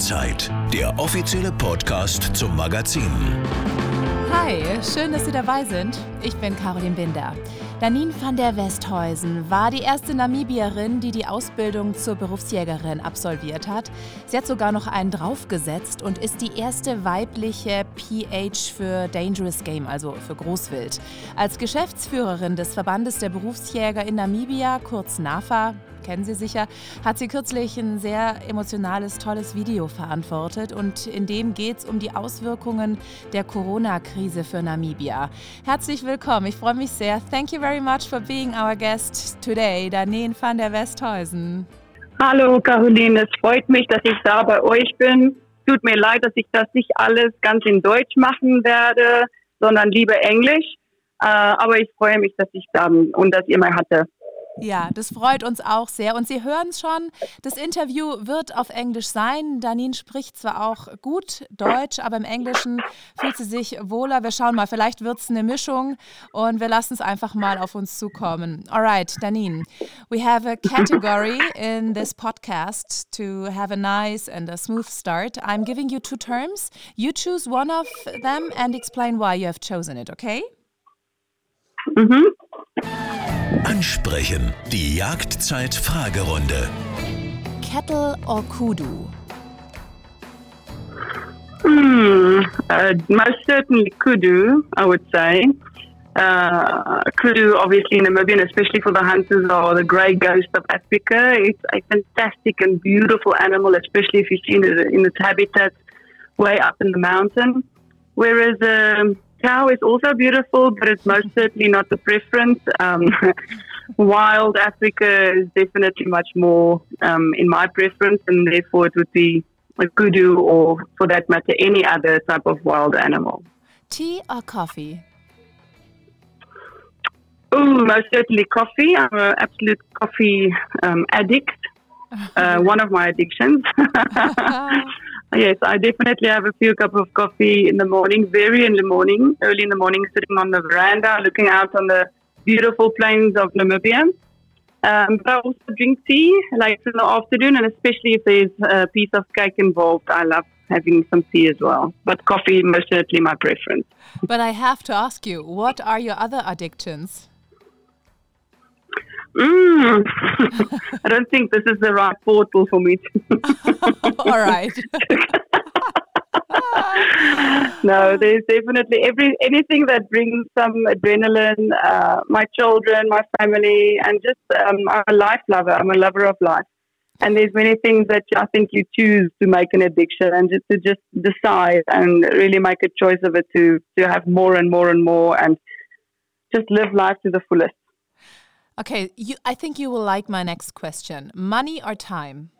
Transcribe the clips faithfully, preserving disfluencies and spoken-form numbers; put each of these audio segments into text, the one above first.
Jagdzeit, der offizielle Podcast zum Magazin. Hi, schön, dass Sie dabei sind. Ich bin Caroline Binder. Danien van der Westhuizen war die erste Namibierin, die die Ausbildung zur Berufsjägerin absolviert hat. Sie hat sogar noch einen draufgesetzt und ist die erste weibliche P H für Dangerous Game, also für Großwild. Als Geschäftsführerin des Verbandes der Berufsjäger in Namibia, kurz NAFA, kennen Sie sicher, hat sie kürzlich ein sehr emotionales, tolles Video verantwortet und in dem geht es um die Auswirkungen der Corona-Krise für Namibia. Herzlich willkommen, ich freue mich sehr. Thank you very much for being our guest today, Danien van der Westhuizen. Hallo Caroline, es freut mich, dass ich da bei euch bin. Tut mir leid, dass ich das nicht alles ganz in Deutsch machen werde, sondern lieber Englisch. Äh, aber ich freue mich, dass ich da bin und dass ihr mal hatte. Ja, das freut uns auch sehr. Und Sie hören es schon, das Interview wird auf Englisch sein. Danien spricht zwar auch gut Deutsch, aber im Englischen fühlt sie sich wohler. Wir schauen mal, vielleicht wird es eine Mischung und wir lassen es einfach mal auf uns zukommen. Alright, Danien, we have a category in this podcast to have a nice and a smooth start. I'm giving you two terms. You choose one of them and explain why you have chosen it, okay? Mhm. Ansprechen. Die Jagdzeit-Fragerunde. Kettle or kudu? Hmm. Uh, most certainly kudu, I would say. Uh, kudu, obviously Namibian, especially for the hunters, are the grey ghost of Africa. It's a fantastic and beautiful animal, especially if you've seen it in its habitat way up in the mountain. Whereas um, cow is also beautiful, but it's most certainly not the preference. Um, wild Africa is definitely much more um, in my preference, and therefore it would be a kudu or, for that matter, any other type of wild animal. Tea or coffee? Oh, most certainly coffee. I'm an absolute coffee um, addict. Uh, one of my addictions. Yes, I definitely have a few cups of coffee in the morning, very in the morning, early in the morning, sitting on the veranda, looking out on the beautiful plains of Namibia. Um, but I also drink tea later in the afternoon, and especially if there's a piece of cake involved, I love having some tea as well. But coffee, most certainly my preference. But I have to ask you, what are your other addictions? Mm. I don't think this is the right portal for me. All right. No, there's definitely every anything that brings some adrenaline. Uh, my children, my family, and just um, I'm a life lover. I'm a lover of life, and there's many things that I think you choose to make an addiction, and just to just decide and really make a choice of it to to have more and more and more, and just live life to the fullest. Okay, you, I think you will like my next question. Money or time?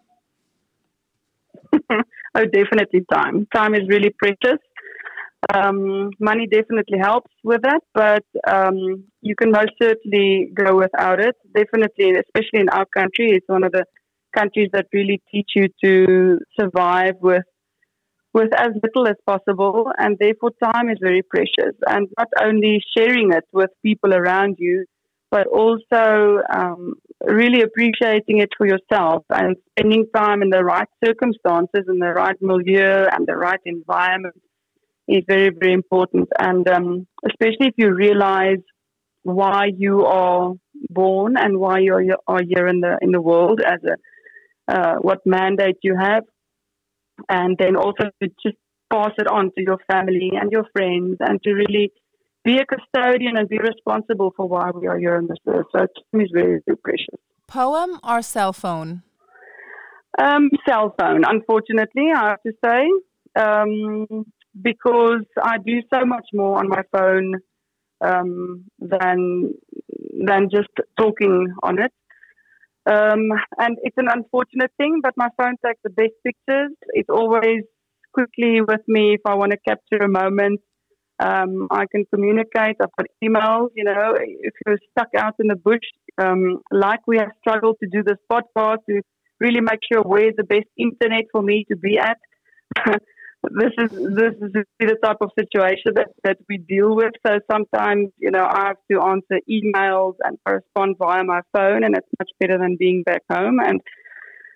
Oh, definitely time. Time is really precious. Um, money definitely helps with that, but um, you can most certainly go without it. Definitely, especially in our country, it's one of the countries that really teach you to survive with with as little as possible, and therefore time is very precious. And not only sharing it with people around you, but also um, really appreciating it for yourself and spending time in the right circumstances, in the right milieu and the right environment is very, very important. And um, especially if you realize why you are born and why you are here in the in the world, as a uh, what mandate you have, and then also to just pass it on to your family and your friends, and to really be a custodian and be responsible for why we are here on this earth. So time is very, very precious. Poem or cell phone? Um, cell phone, unfortunately, I have to say, um, because I do so much more on my phone um, than than just talking on it. Um, and it's an unfortunate thing, but my phone takes the best pictures. It's always quickly with me if I want to capture a moment. Um, I can communicate. I've got emails, you know, if you're stuck out in the bush, um, like we have struggled to do this podcast, to really make sure where's the best internet for me to be at. this is this is the type of situation that, that we deal with. So sometimes, you know, I have to answer emails and correspond via my phone, and it's much better than being back home. And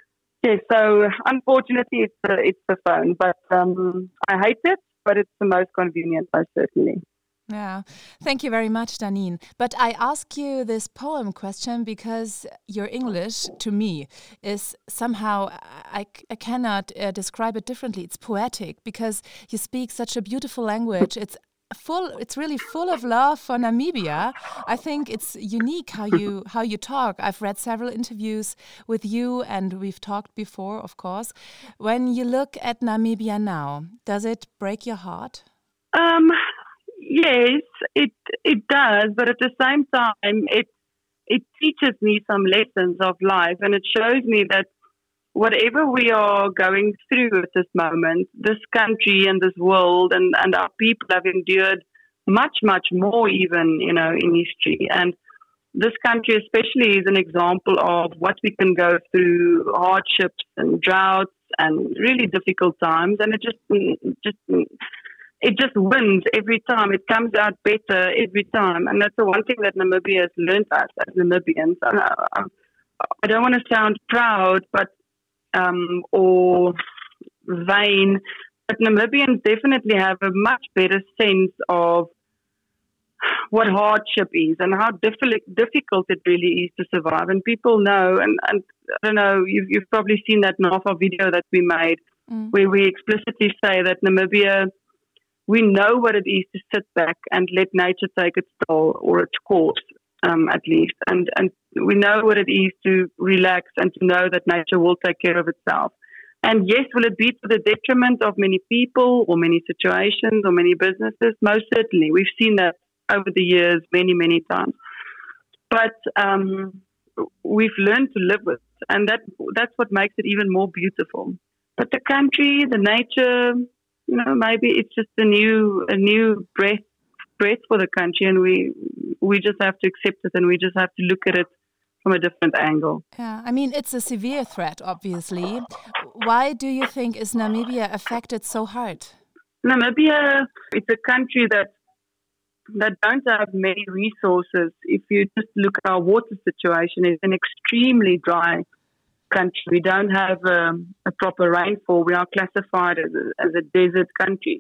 Yeah, so unfortunately it's the, it's the phone, but um, I hate it, but it's the most convenient, most certainly. Yeah, thank you very much, Danine. But I ask you this poem question because your English, to me, is somehow, I, I cannot uh, describe it differently. It's poetic because you speak such a beautiful language. It's full. It's really full of love for Namibia. I think it's unique how you how you talk. I've read several interviews with you, and we've talked before, of course. When you look at Namibia now, does it break your heart? Um. Yes, it it does, but at the same time, it it teaches me some lessons of life, and it shows me that whatever we are going through at this moment, this country and this world and, and our people have endured much, much more even, you know, in history. And this country especially is an example of what we can go through, hardships and droughts and really difficult times, and it just just It just wins every time. It comes out better every time. And that's the one thing that Namibia has learned us as Namibians. And I, I don't want to sound proud but um, or vain, but Namibians definitely have a much better sense of what hardship is and how diffi- difficult it really is to survive. And people know, and, and I don't know, you've, you've probably seen that NAFA video that we made mm. where we explicitly say that Namibia, we know what it is to sit back and let nature take its toll or its course, um, at least. And, and we know what it is to relax and to know that nature will take care of itself. And yes, will it be to the detriment of many people or many situations or many businesses? Most certainly. We've seen that over the years many, many times. But um, we've learned to live with it. And that that's what makes it even more beautiful. But the country, the nature, you know, maybe it's just a new a new breath breath for the country, and we we just have to accept it, and we just have to look at it from a different angle. Yeah, I mean, it's a severe threat, obviously. Why do you think is Namibia affected so hard? Namibia, it's a country that that don't have many resources. If you just look at our water situation, it's an extremely dry country. We don't have um, a proper rainfall. We are classified as a, as a desert country.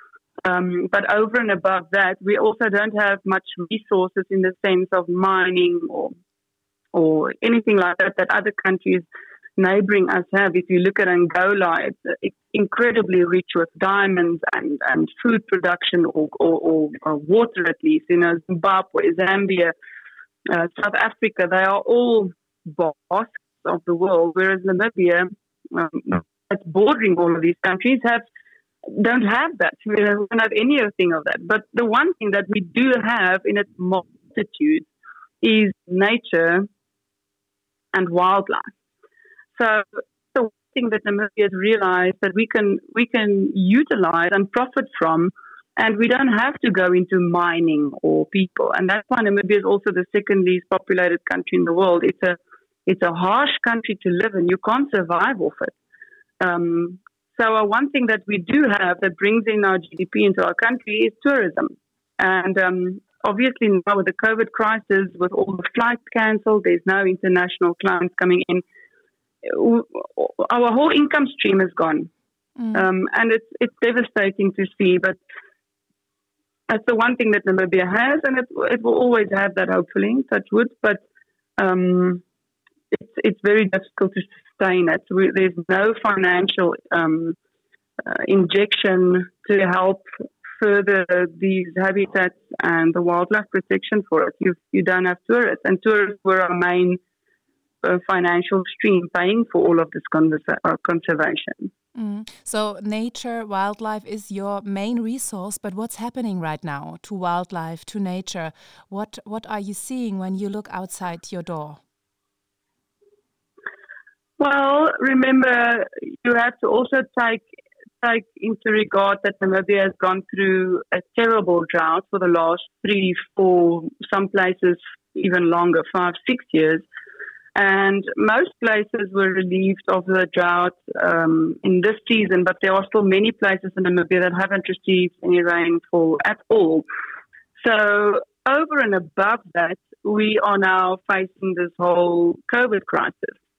Um, but over and above that, we also don't have much resources in the sense of mining or or anything like that that other countries neighboring us have. If you look at Angola, it's, it's incredibly rich with diamonds and, and food production or, or, or, or water at least. You know, Zimbabwe, Zambia, uh, South Africa, they are all baskets of the world, whereas Namibia, um, that's bordering all of these countries, have don't have that. We don't have anything of that. But the one thing that we do have in its multitude is nature and wildlife. So the one thing that Namibia has realized that we can we can utilize and profit from, and we don't have to go into mining or people. And that's why Namibia is also the second least populated country in the world. It's a it's a harsh country to live in. You can't survive off it. Um, so uh, one thing that we do have that brings in our G D P into our country is tourism. And um, obviously now with the COVID crisis, with all the flights cancelled, there's no international clients coming in. Our whole income stream is gone. Mm. Um, and it's it's devastating to see, but that's the one thing that Namibia has, and it, it will always have that, hopefully, touch wood, but um, it's it's very difficult to sustain it. We, there's no financial um, uh, injection to help further these habitats and the wildlife protection for it. You you don't have tourists, and tourists were our main uh, financial stream paying for all of this conversa- uh, conservation. Mm. So nature, wildlife is your main resource, but what's happening right now to wildlife, to nature? What what are you seeing when you look outside your door? Well, remember, you have to also take take into regard that Namibia has gone through a terrible drought for the last three, four, some places even longer, five, six years. And most places were relieved of the drought um, in this season, but there are still many places in Namibia that haven't received any rainfall at all. So over and above that, we are now facing this whole COVID crisis.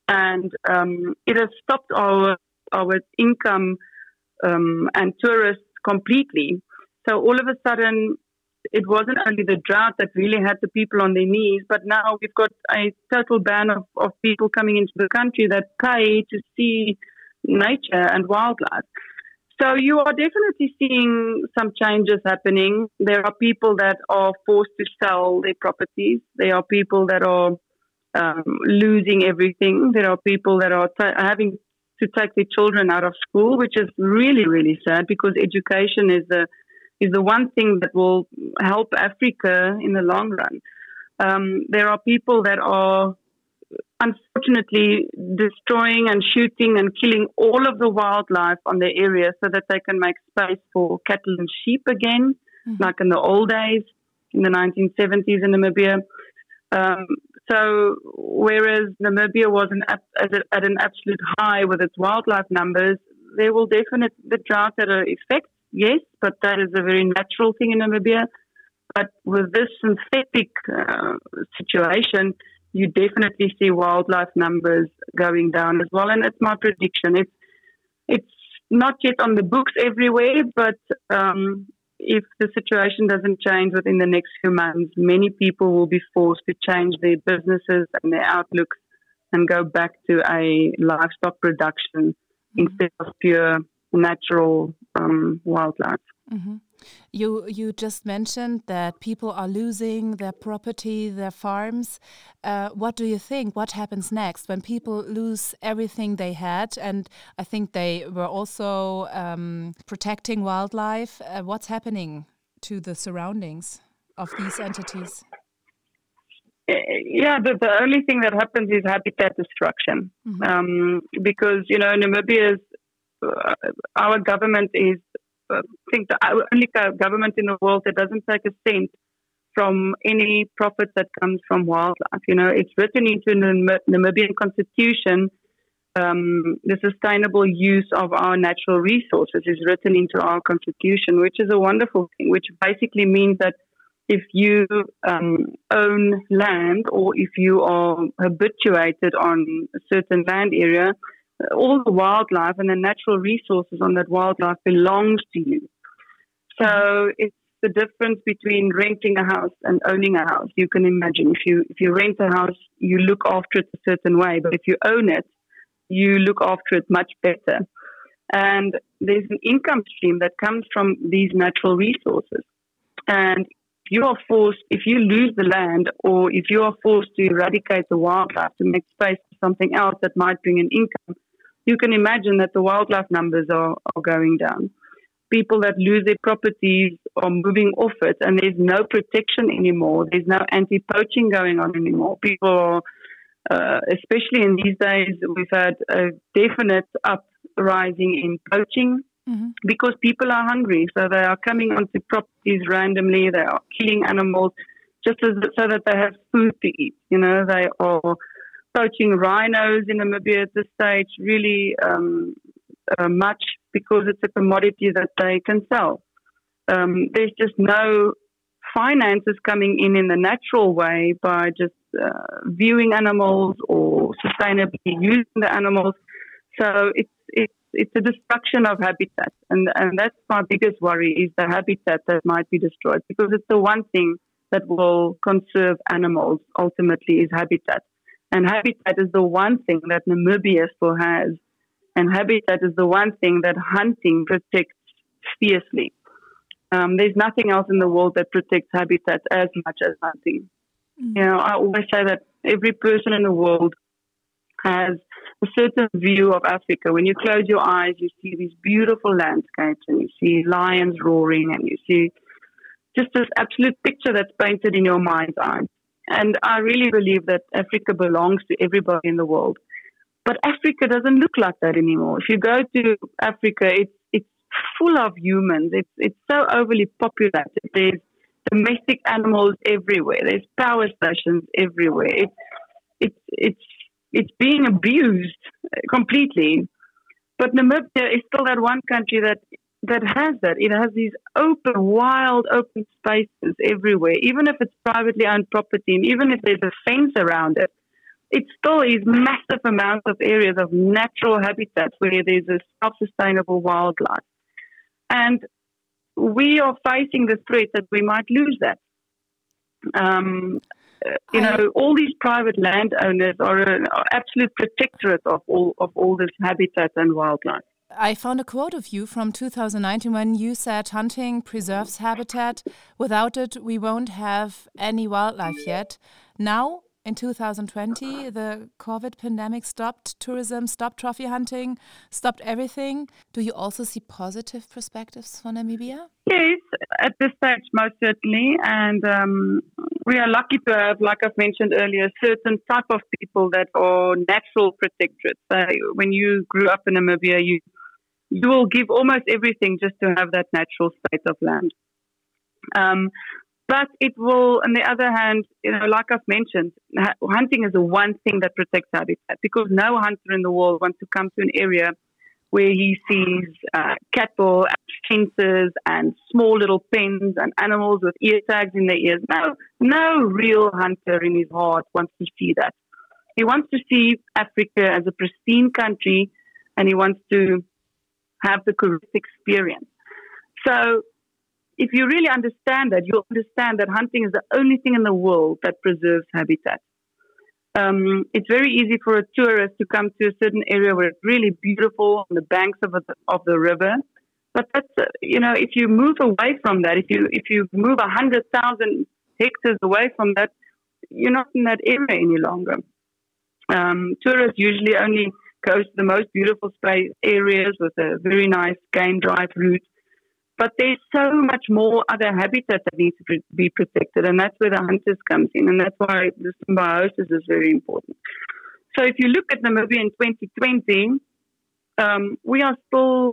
and um, it has stopped our our income um, and tourists completely. So all of a sudden, it wasn't only the drought that really had the people on their knees, but now we've got a total ban of, of people coming into the country that pay to see nature and wildlife. So you are definitely seeing some changes happening. There are people that are forced to sell their properties. There are people that are um, losing everything. There are people that are t- having to take their children out of school, which is really, really sad, because education is the is the one thing that will help Africa in the long run. Um, there are people that are unfortunately destroying and shooting and killing all of the wildlife on their area so that they can make space for cattle and sheep again, mm-hmm. like in the old days, in the nineteen seventies in Namibia. Um, so whereas Namibia was an, at, at an absolute high with its wildlife numbers, there will definitely, the drought had an effect, yes, but that is a very natural thing in Namibia. But with this synthetic uh, situation, you definitely see wildlife numbers going down as well. And it's my prediction. It's it's not yet on the books everywhere, but um, if the situation doesn't change within the next few months, many people will be forced to change their businesses and their outlooks and go back to a livestock production mm-hmm. instead of pure natural um, wildlife. Mm-hmm. You you just mentioned that people are losing their property, their farms. Uh, what do you think? What happens next when people lose everything they had? And I think they were also um, protecting wildlife. Uh, what's happening to the surroundings of these entities? Yeah, the, the only thing that happens is habitat destruction. Mm-hmm. Um, because, you know, Namibia's, uh, our government is I think the only government in the world that doesn't take a cent from any profit that comes from wildlife. You know, it's written into the Namibian constitution. Um, the sustainable use of our natural resources is written into our constitution, which is a wonderful thing, which basically means that if you um, own land or if you are habituated on a certain land area, all the wildlife and the natural resources on that wildlife belongs to you. So it's the difference between renting a house and owning a house. You can imagine if you if you rent a house, you look after it a certain way, but if you own it, you look after it much better. And there's an income stream that comes from these natural resources. And if you are forced, if you lose the land, or if you are forced to eradicate the wildlife to make space for something else that might bring an income, you can imagine that the wildlife numbers are, are going down. People that lose their properties are moving off it, and there's no protection anymore. There's no anti-poaching going on anymore. People are, uh, especially in these days, we've had a definite uprising in poaching mm-hmm. because people are hungry. So they are coming onto properties randomly. They are killing animals just as, so that they have food to eat. You know, they are poaching rhinos in Namibia at this stage really um, uh, much because it's a commodity that they can sell. Um, there's just no finances coming in in the natural way by just uh, viewing animals or sustainably using the animals. So it's it's it's a destruction of habitat, and and that's my biggest worry is the habitat that might be destroyed, because it's the one thing that will conserve animals ultimately is habitat. And habitat is the one thing that Namibia still has. And habitat is the one thing that hunting protects fiercely. Um, there's nothing else in the world that protects habitat as much as hunting. Mm. You know, I always say that every person in the world has a certain view of Africa. When you close your eyes, you see these beautiful landscapes, and you see lions roaring, and you see just this absolute picture that's painted in your mind's eye. And I really believe that Africa belongs to everybody in the world. But Africa doesn't look like that anymore. If you go to Africa, it's it's full of humans. It's it's so overly populated. There's domestic animals everywhere. There's power stations everywhere. It's it's it's it's being abused completely. But Namibia is still that one country that that has that. It has these open, wild, open spaces everywhere, even if it's privately owned property, and even if there's a fence around it, it still is massive amounts of areas of natural habitats where there's a self-sustainable wildlife. And we are facing the threat that we might lose that. Um, you know, all these private landowners are an absolute protectorate of all of all this habitat and wildlife. I found a quote of you from two thousand nineteen when you said hunting preserves habitat. Without it, we won't have any wildlife yet. Now, in two thousand twenty, the COVID pandemic stopped tourism, stopped trophy hunting, stopped everything. Do you also see positive perspectives for Namibia? Yes, at this stage, most certainly. And um, we are lucky to have, like I've mentioned earlier, certain type of people that are natural protectorates. So when you grew up in Namibia, you you will give almost everything just to have that natural state of land. Um, but it will, on the other hand, you know, like I've mentioned, hunting is the one thing that protects habitat, because no hunter in the world wants to come to an area where he sees uh, cattle and fences and small little pens and animals with ear tags in their ears. No, no real hunter in his heart wants to see that. He wants to see Africa as a pristine country, and he wants to have the correct experience. So if you really understand that, you'll understand that hunting is the only thing in the world that preserves habitat. Um, it's very easy for a tourist to come to a certain area where it's really beautiful on the banks of, a, of the river. But that's, uh, you know, if you move away from that, if you if you move one hundred thousand hectares away from that, you're not in that area any longer. Um, tourists usually only go to the most beautiful space areas with a very nice game drive route. But there's so much more other habitat that needs to be protected, and that's where the hunters comes in, and that's why the symbiosis is very important. So if you look at Namibia in twenty twenty, um, we are still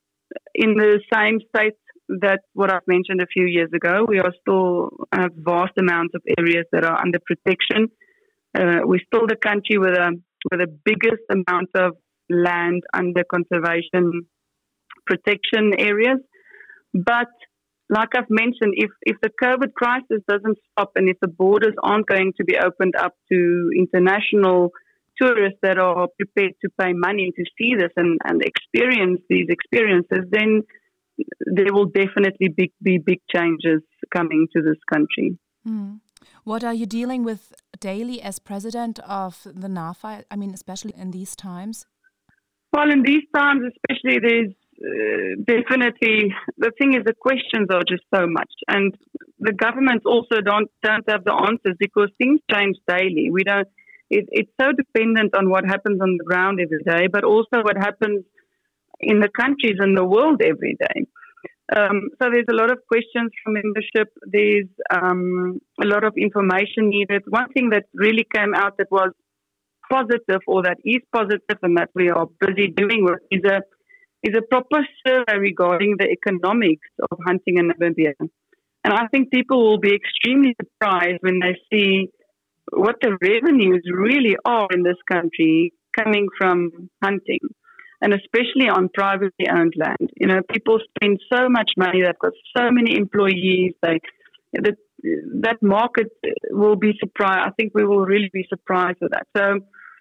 in the same state that what I've mentioned a few years ago. We are still have vast amounts of areas that are under protection. Uh, we're still the country with a with the biggest amount of land under conservation protection areas. But like I've mentioned, if, if the COVID crisis doesn't stop and if the borders aren't going to be opened up to international tourists that are prepared to pay money to see this and, and experience these experiences, then there will definitely be, be big changes coming to this country. Mm. What are you dealing with daily as president of the NAFA? I mean, especially in these times? Well, in these times, especially, there's Uh, definitely, the thing is, the questions are just so much, and the governments also don't don't have the answers because things change daily. We don't. It, it's so dependent on what happens on the ground every day, but also what happens in the countries and the world every day. Um, so there's a lot of questions from membership. There's um, a lot of information needed. One thing that really came out that was positive, or that is positive, and that we are busy doing with, is a is a proper survey regarding the economics of hunting in Namibia. And I think people will be extremely surprised when they see what the revenues really are in this country coming from hunting, and especially on privately owned land. You know, people spend so much money, they've got so many employees, they, that, that market will be surprised. I think we will really be surprised with that. So,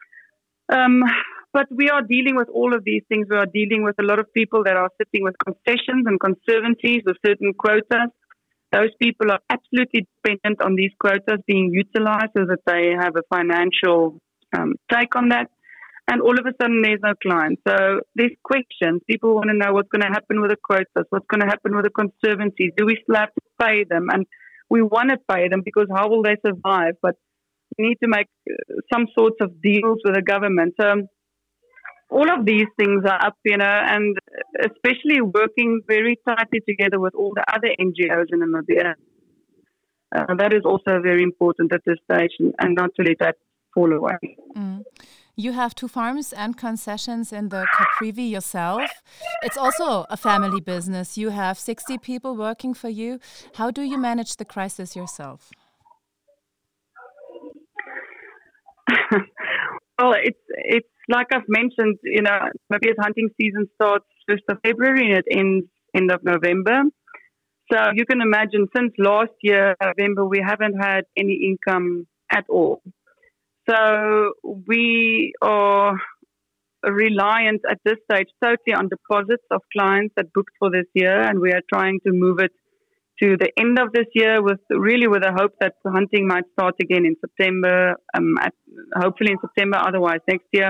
um, But we are dealing with all of these things. We are dealing with a lot of people that are sitting with concessions and conservancies with certain quotas. Those people are absolutely dependent on these quotas being utilized so that they have a financial um, take on that. And all of a sudden, there's no client. So there's questions. People want to know what's going to happen with the quotas, what's going to happen with the conservancies. Do we still have to pay them? And we want to pay them because how will they survive? But we need to make some sorts of deals with the government. So all of these things are up, you know, and especially working very tightly together with all the other N G Os in Namibia. Uh, that is also very important at this stage, and not to let that fall away. Mm. You have two farms and concessions in the Caprivi yourself. It's also a family business. You have sixty people working for you. How do you manage the crisis yourself? Well, it's it's like I've mentioned, you know, Namibia's hunting season starts first of February and it ends end of November. So you can imagine since last year, November, we haven't had any income at all. So we are reliant at this stage totally on deposits of clients that booked for this year, and we are trying to move it to the end of this year with really with the hope that the hunting might start again in September, um, at, hopefully in September, otherwise next year.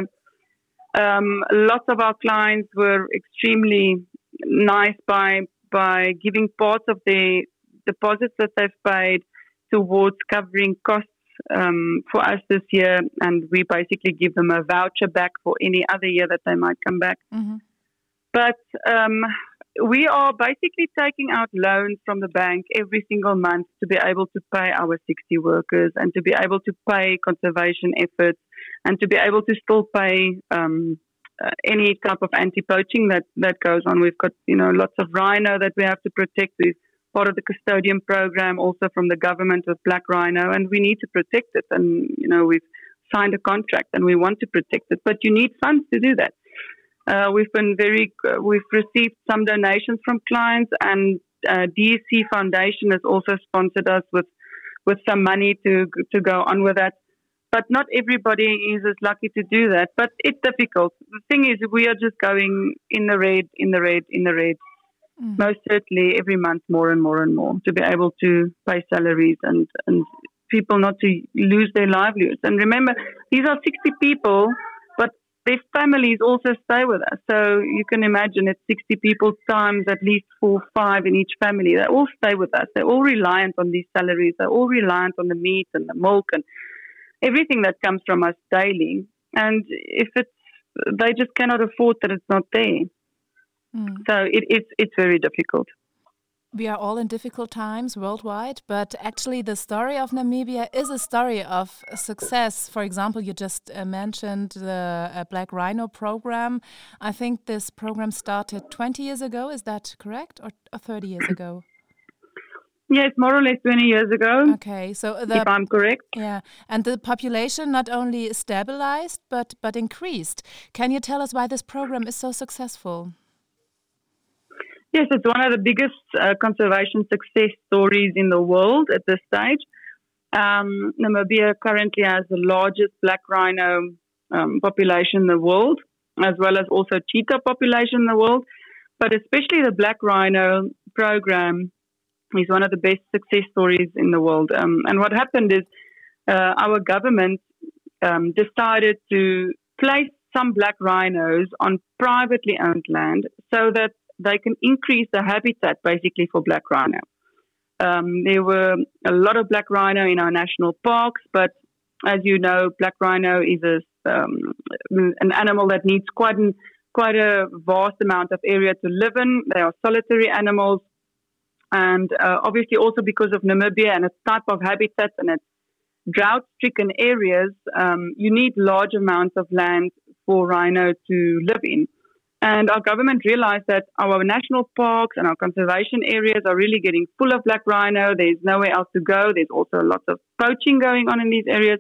Um, lots of our clients were extremely nice by by giving parts of the deposits that they've paid towards covering costs um, for us this year, and we basically give them a voucher back for any other year that they might come back. Mm-hmm. But um, we are basically taking out loans from the bank every single month to be able to pay our sixty workers and to be able to pay conservation efforts and to be able to still pay um, uh, any type of anti-poaching that, that goes on. We've got, you know, lots of rhino that we have to protect. We've part of the custodian program also from the government with black rhino, and we need to protect it. And, you know, we've signed a contract and we want to protect it, but you need funds to do that. Uh, we've been very, uh, we've received some donations from clients, and uh, D S C Foundation has also sponsored us with, with some money to to go on with that. But not everybody is as lucky to do that. But it's difficult. The thing is, we are just going in the red, in the red, in the red. Mm. Most certainly every month more and more and more to be able to pay salaries and, and people not to lose their livelihoods. And remember, these are sixty people, but their families also stay with us. So you can imagine it's sixty people times at least four, five in each family. They all stay with us. They're all reliant on these salaries. They're all reliant on the meat and the milk and everything that comes from us daily. And if it's, they just cannot afford that it's not there. Mm. So it, it's it's very difficult. We are all in difficult times worldwide, but actually the story of Namibia is a story of success. For example, you just uh, mentioned the uh, Black Rhino program. I think this program started twenty years ago. Is that correct? Or, or thirty years ago? Yes, more or less twenty years ago. Okay, so the, if I'm correct. Yeah, and the population not only stabilized, but, but increased. Can you tell us why this program is so successful? Yes, it's one of the biggest uh, conservation success stories in the world at this stage. Um, Namibia currently has the largest black rhino um, population in the world, as well as also cheetah population in the world. But especially the black rhino program is one of the best success stories in the world. Um, and what happened is uh, our government um, decided to place some black rhinos on privately owned land so that they can increase the habitat basically for black rhino. Um, there were a lot of black rhino in our national parks, but as you know, black rhino is a, um, an animal that needs quite, an, quite a vast amount of area to live in. They are solitary animals. And uh, obviously also because of Namibia and its type of habitat and its drought-stricken areas, um, you need large amounts of land for rhino to live in. And our government realized that our national parks and our conservation areas are really getting full of black rhino. There's nowhere else to go. There's also lots of poaching going on in these areas.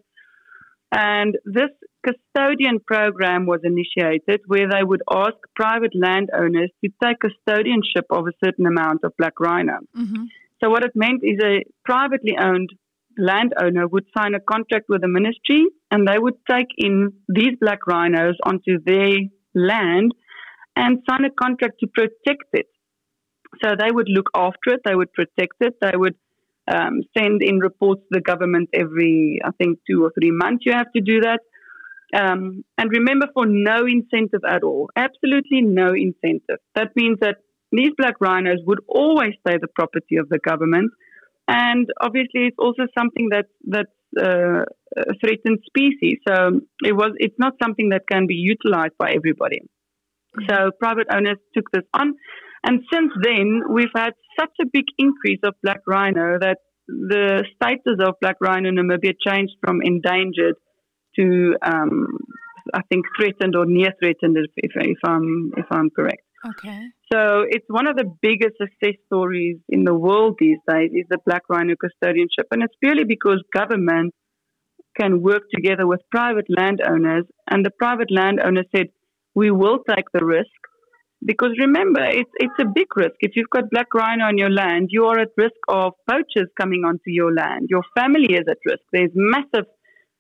And this custodian program was initiated where they would ask private landowners to take custodianship of a certain amount of black rhino. Mm-hmm. So what it meant is a privately owned landowner would sign a contract with the ministry, and they would take in these black rhinos onto their land and sign a contract to protect it. So they would look after it, they would protect it, they would um, send in reports to the government every, I think, two or three months you have to do that. Um, and remember, for no incentive at all, absolutely no incentive. That means that these black rhinos would always stay the property of the government. And obviously it's also something that, that's uh, a threatened species. So it was, it's not something that can be utilized by everybody. So private owners took this on. And since then, we've had such a big increase of black rhino that the status of black rhino in Namibia changed from endangered to, um, I think, threatened or near threatened, if, if, if I'm if I'm correct. Okay. So it's one of the biggest success stories in the world these days is the black rhino custodianship. And it's purely because government can work together with private landowners. And the private landowner said, we will take the risk, because remember, it's it's a big risk. If you've got black rhino on your land, you are at risk of poachers coming onto your land. Your family is at risk. There's massive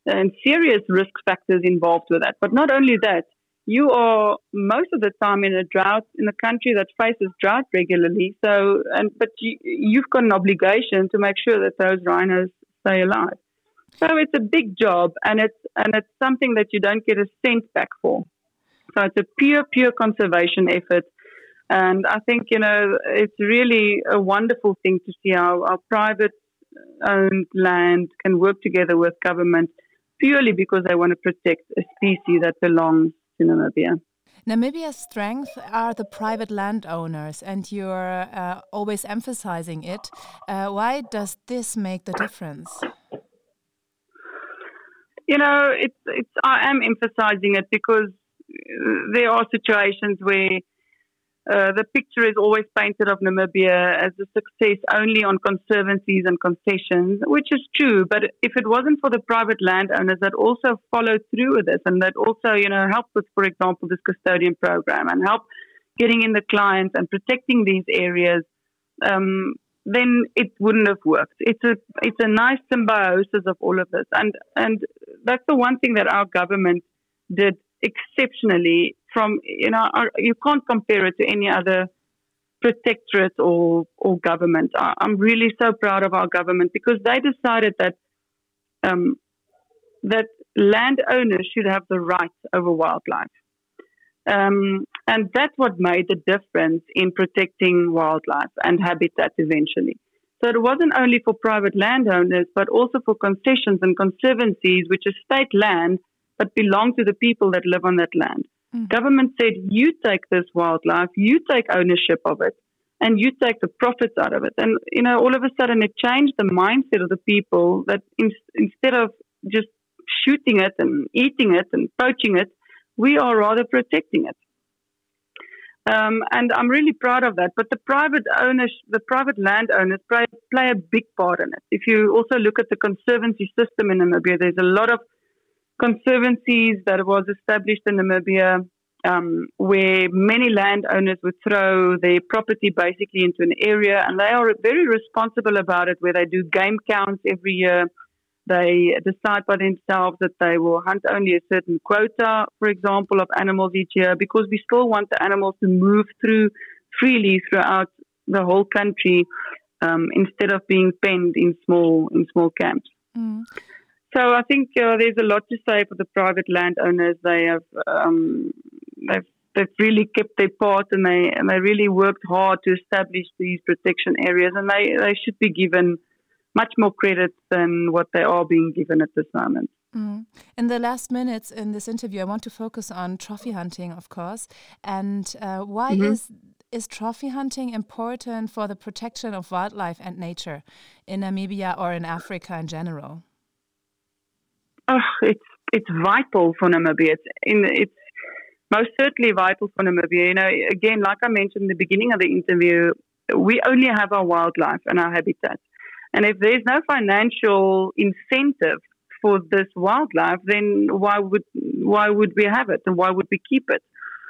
and serious risk factors involved with that. But not only that, you are most of the time in a drought, in a country that faces drought regularly. So, and but you, you've got an obligation to make sure that those rhinos stay alive. So it's a big job, and it's and it's something that you don't get a cent back for. So it's a pure, pure conservation effort. And I think, you know, it's really a wonderful thing to see how our private-owned land can work together with government purely because they want to protect a species that belongs to Namibia. Namibia's strength are the private landowners, and you're uh, always emphasizing it. Uh, why does this make the difference? You know, it's it's. I am emphasizing it because there are situations where uh, the picture is always painted of Namibia as a success only on conservancies and concessions, which is true. But if it wasn't for the private landowners that also followed through with this and that also, you know, helped with, for example, this custodian program and help getting in the clients and protecting these areas, um, then it wouldn't have worked. It's a it's a nice symbiosis of all of this, and and that's the one thing that our government did exceptionally. From, you know, our, you can't compare it to any other protectorate or or government. I, I'm really so proud of our government because they decided that um, that landowners should have the rights over wildlife, um, and that's what made the difference in protecting wildlife and habitat eventually. So it wasn't only for private landowners, but also for concessions and conservancies, which is state land but belong to the people that live on that land. Mm. Government said, you take this wildlife, you take ownership of it, and you take the profits out of it. And, you know, all of a sudden it changed the mindset of the people that in, instead of just shooting it and eating it and poaching it, we are rather protecting it. Um, and I'm really proud of that. But the private owners, the private landowners play, play a big part in it. If you also look at the conservancy system in Namibia, there's a lot of conservancies that was established in Namibia um, where many landowners would throw their property basically into an area, and they are very responsible about it, where they do game counts every year. They decide by themselves that they will hunt only a certain quota, for example, of animals each year, because we still want the animals to move through freely throughout the whole country um, instead of being penned in small in small camps. Mm. So I think uh, there's a lot to say for the private landowners. They have um, they've they've really kept their part, and they and they really worked hard to establish these protection areas, and they, they should be given much more credit than what they are being given at this moment. Mm. In the last minutes in this interview, I want to focus on trophy hunting, of course, and uh, why mm-hmm. is is trophy hunting important for the protection of wildlife and nature in Namibia or in Africa in general? Oh, it's it's vital for Namibia. It's in it's most certainly vital for Namibia. You know, again, like I mentioned in the beginning of the interview, we only have our wildlife and our habitat, and if there's no financial incentive for this wildlife, then why would why would we have it, and why would we keep it?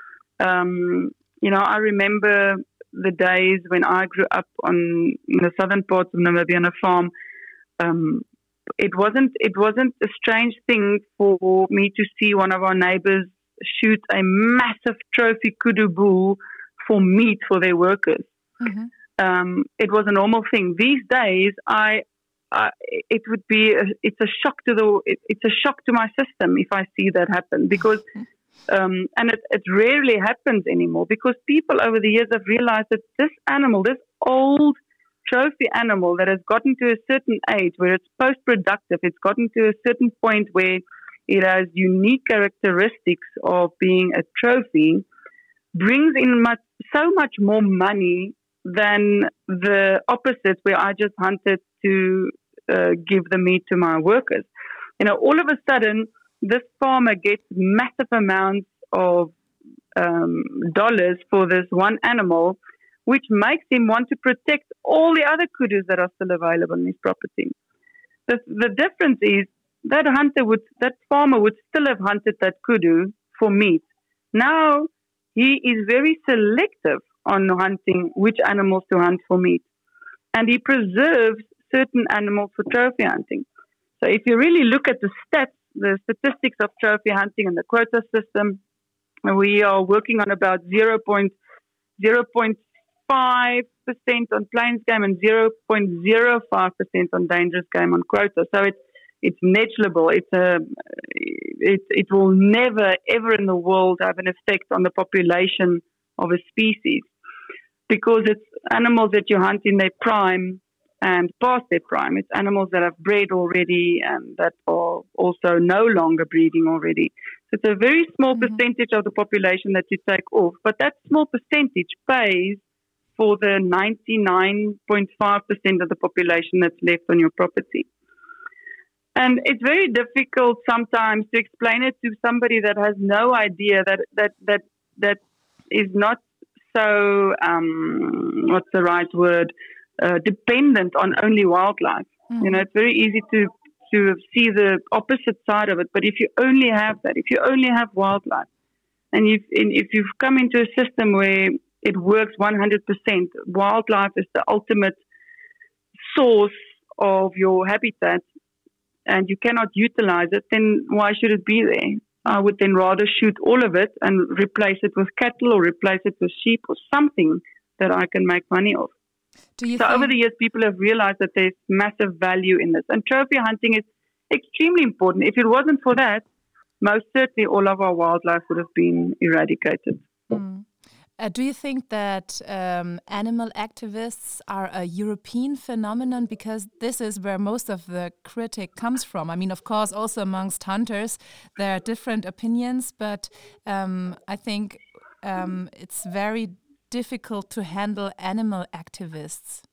Um, you know, I remember the days when I grew up on in the southern parts of Namibia on a farm. Um, It wasn't it wasn't a strange thing for me to see one of our neighbors shoot a massive trophy kudu bull for meat for their workers. Mm-hmm. Um, it was a normal thing. These days, I, I it would be a, it's a shock to the it, it's a shock to my system if I see that happen because um, and it, it rarely happens anymore because people over the years have realized that this animal, this old trophy animal that has gotten to a certain age where it's post-productive, it's gotten to a certain point where it has unique characteristics of being a trophy, brings in much, so much more money than the opposite where I just hunted to uh, give the meat to my workers. You know, all of a sudden, this farmer gets massive amounts of um, dollars for this one animal, which makes him want to protect all the other kudus that are still available in his property. The, the difference is that hunter would, that farmer would still have hunted that kudu for meat. Now he is very selective on hunting which animals to hunt for meat, and he preserves certain animals for trophy hunting. So if you really look at the stats the statistics of trophy hunting and the quota system, we are working on about zero point five percent on plains game and zero point zero five percent on dangerous game on quota. So it's it's negligible. It's a it it will never ever in the world have an effect on the population of a species, because it's animals that you hunt in their prime and past their prime. It's animals that have bred already and that are also no longer breeding already. So it's a very small mm-hmm. percentage of the population that you take off, but that small percentage pays for the ninety-nine point five percent of the population that's left on your property. And it's very difficult sometimes to explain it to somebody that has no idea, that that that that is not so, um, what's the right word, uh, dependent on only wildlife. Mm. You know, it's very easy to, to see the opposite side of it. But if you only have that, if you only have wildlife, and you've, and if you've come into a system where it works one hundred percent, wildlife is the ultimate source of your habitat, and you cannot utilize it, then why should it be there? I would then rather shoot all of it and replace it with cattle or replace it with sheep or something that I can make money off. Do you so think- over the years, people have realized that there's massive value in this. And trophy hunting is extremely important. If it wasn't for that, most certainly all of our wildlife would have been eradicated. Mm. Uh, do you think that um, animal activists are a European phenomenon? Because this is where most of the critique comes from. I mean, of course, also amongst hunters, there are different opinions, but um, I think um, it's very difficult to handle animal activists.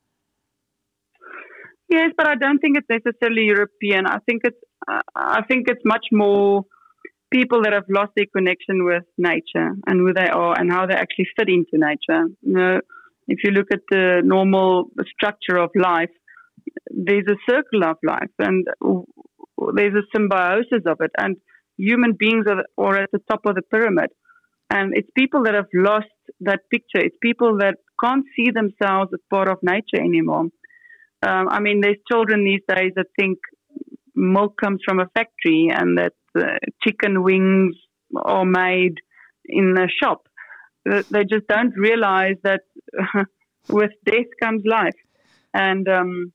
Yes, but I don't think it's necessarily European. I think it's uh, I think it's much more people that have lost their connection with nature and who they are and how they actually fit into nature. You know, if you look at the normal structure of life, there's a circle of life and there's a symbiosis of it, and human beings are, are at the top of the pyramid. And it's people that have lost that picture. It's people that can't see themselves as part of nature anymore. Um, I mean, there's children these days that think milk comes from a factory and that uh, chicken wings are made in a shop. They just don't realize that with death comes life. And um,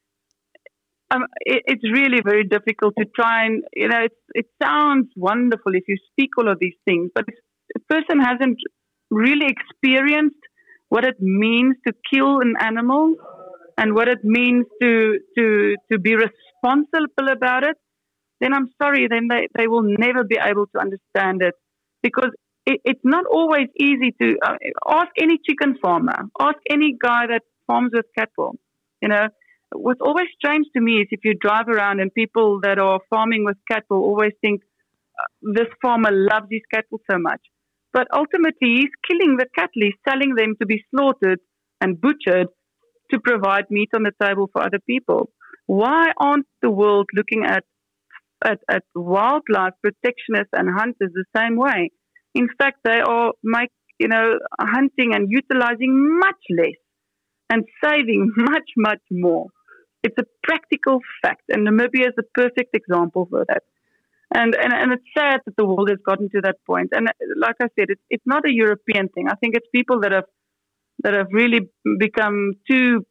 um, it, it's really very difficult to try and, you know, it, it sounds wonderful if you speak all of these things, but if a person hasn't really experienced what it means to kill an animal and what it means to to to be responsible about it, then I'm sorry, then they, they will never be able to understand it, because it, it's not always easy to uh, ask any chicken farmer, ask any guy that farms with cattle. You know, what's always strange to me is if you drive around and people that are farming with cattle always think uh, this farmer loves his cattle so much. But ultimately, he's killing the cattle, he's selling them to be slaughtered and butchered to provide meat on the table for other people. Why aren't the world looking at, at, at wildlife protectionists and hunters the same way? In fact, they are make, you know, hunting and utilizing much less and saving much, much more. It's a practical fact, and Namibia is the perfect example for that. And, and and it's sad that the world has gotten to that point. And like I said, it's it's not a European thing. I think it's people that have that have really become too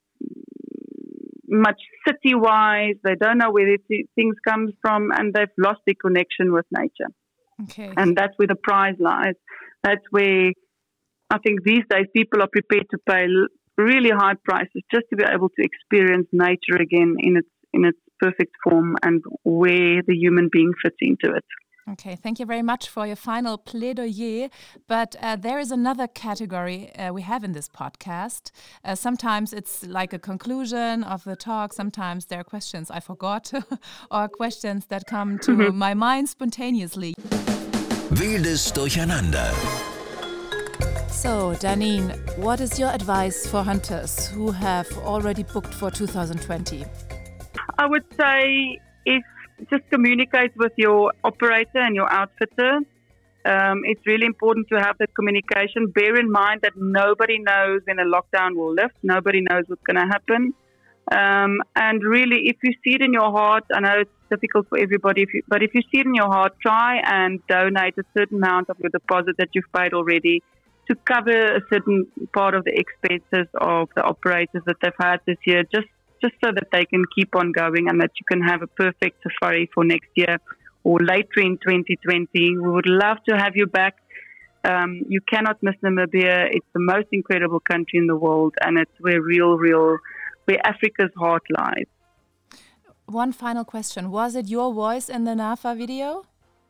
much city-wise. They don't know where these things come from, and they've lost their connection with nature. Okay. And that's where the prize lies. That's where I think these days people are prepared to pay really high prices just to be able to experience nature again in its in its perfect form and where the human being fits into it. Okay, thank you very much for your final plaidoyer. But uh, there is another category uh, we have in this podcast. Uh, sometimes it's like a conclusion of the talk. Sometimes there are questions I forgot or questions that come to my mind spontaneously. Wildes Durcheinander. So, Danine, what is your advice for hunters who have already booked for two thousand twenty? I would say if just communicate with your operator and your outfitter. Um, it's really important to have that communication. Bear in mind that nobody knows when a lockdown will lift. Nobody knows what's going to happen. Um, and really, if you see it in your heart, I know it's difficult for everybody, if you, but if you see it in your heart, try and donate a certain amount of your deposit that you've paid already to cover a certain part of the expenses of the operators that they've had this year, just, just so that they can keep on going and that you can have a perfect safari for next year or later in twenty twenty. We would love to have you back. Um, you cannot miss Namibia. It's the most incredible country in the world, and it's where real, real, where Africa's heart lies. One final question. Was it your voice in the NAFA video?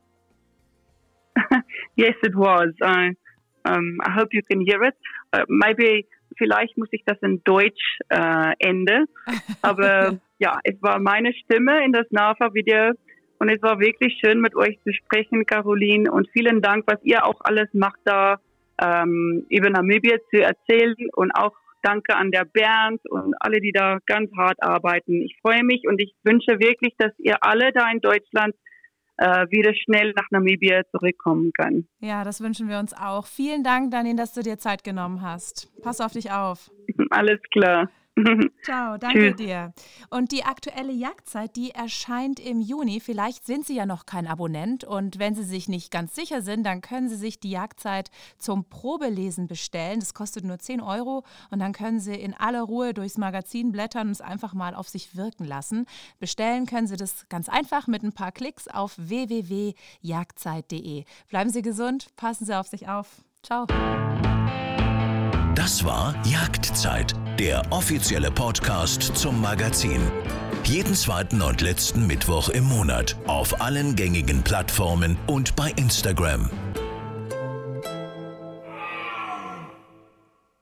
Yes, it was. I, um, I hope you can hear it. Uh, maybe, vielleicht muss ich das in Deutsch äh, ende. Aber ja, es war meine Stimme in das NAFA-Video. Und es war wirklich schön, mit euch zu sprechen, Caroline. Und vielen Dank, was ihr auch alles macht, da ähm, über Namibia zu erzählen. Und auch danke an der Bernd und alle, die da ganz hart arbeiten. Ich freue mich und ich wünsche wirklich, dass ihr alle da in Deutschland äh, wieder schnell nach Namibia zurückkommen könnt. Ja, das wünschen wir uns auch. Vielen Dank, Danine, dass du dir Zeit genommen hast. Pass auf dich auf. Alles klar. Ciao, danke Tschüss. Dir. Und die aktuelle Jagdzeit, die erscheint im Juni. Vielleicht sind Sie ja noch kein Abonnent und wenn Sie sich nicht ganz sicher sind, dann können Sie sich die Jagdzeit zum Probelesen bestellen. Das kostet nur zehn Euro und dann können Sie in aller Ruhe durchs Magazin blättern und es einfach mal auf sich wirken lassen. Bestellen können Sie das ganz einfach mit ein paar Klicks auf w w w punkt jagdzeit punkt de. Bleiben Sie gesund, passen Sie auf sich auf. Ciao. Das war Jagdzeit, der offizielle Podcast zum Magazin. Jeden zweiten und letzten Mittwoch im Monat auf allen gängigen Plattformen und bei Instagram.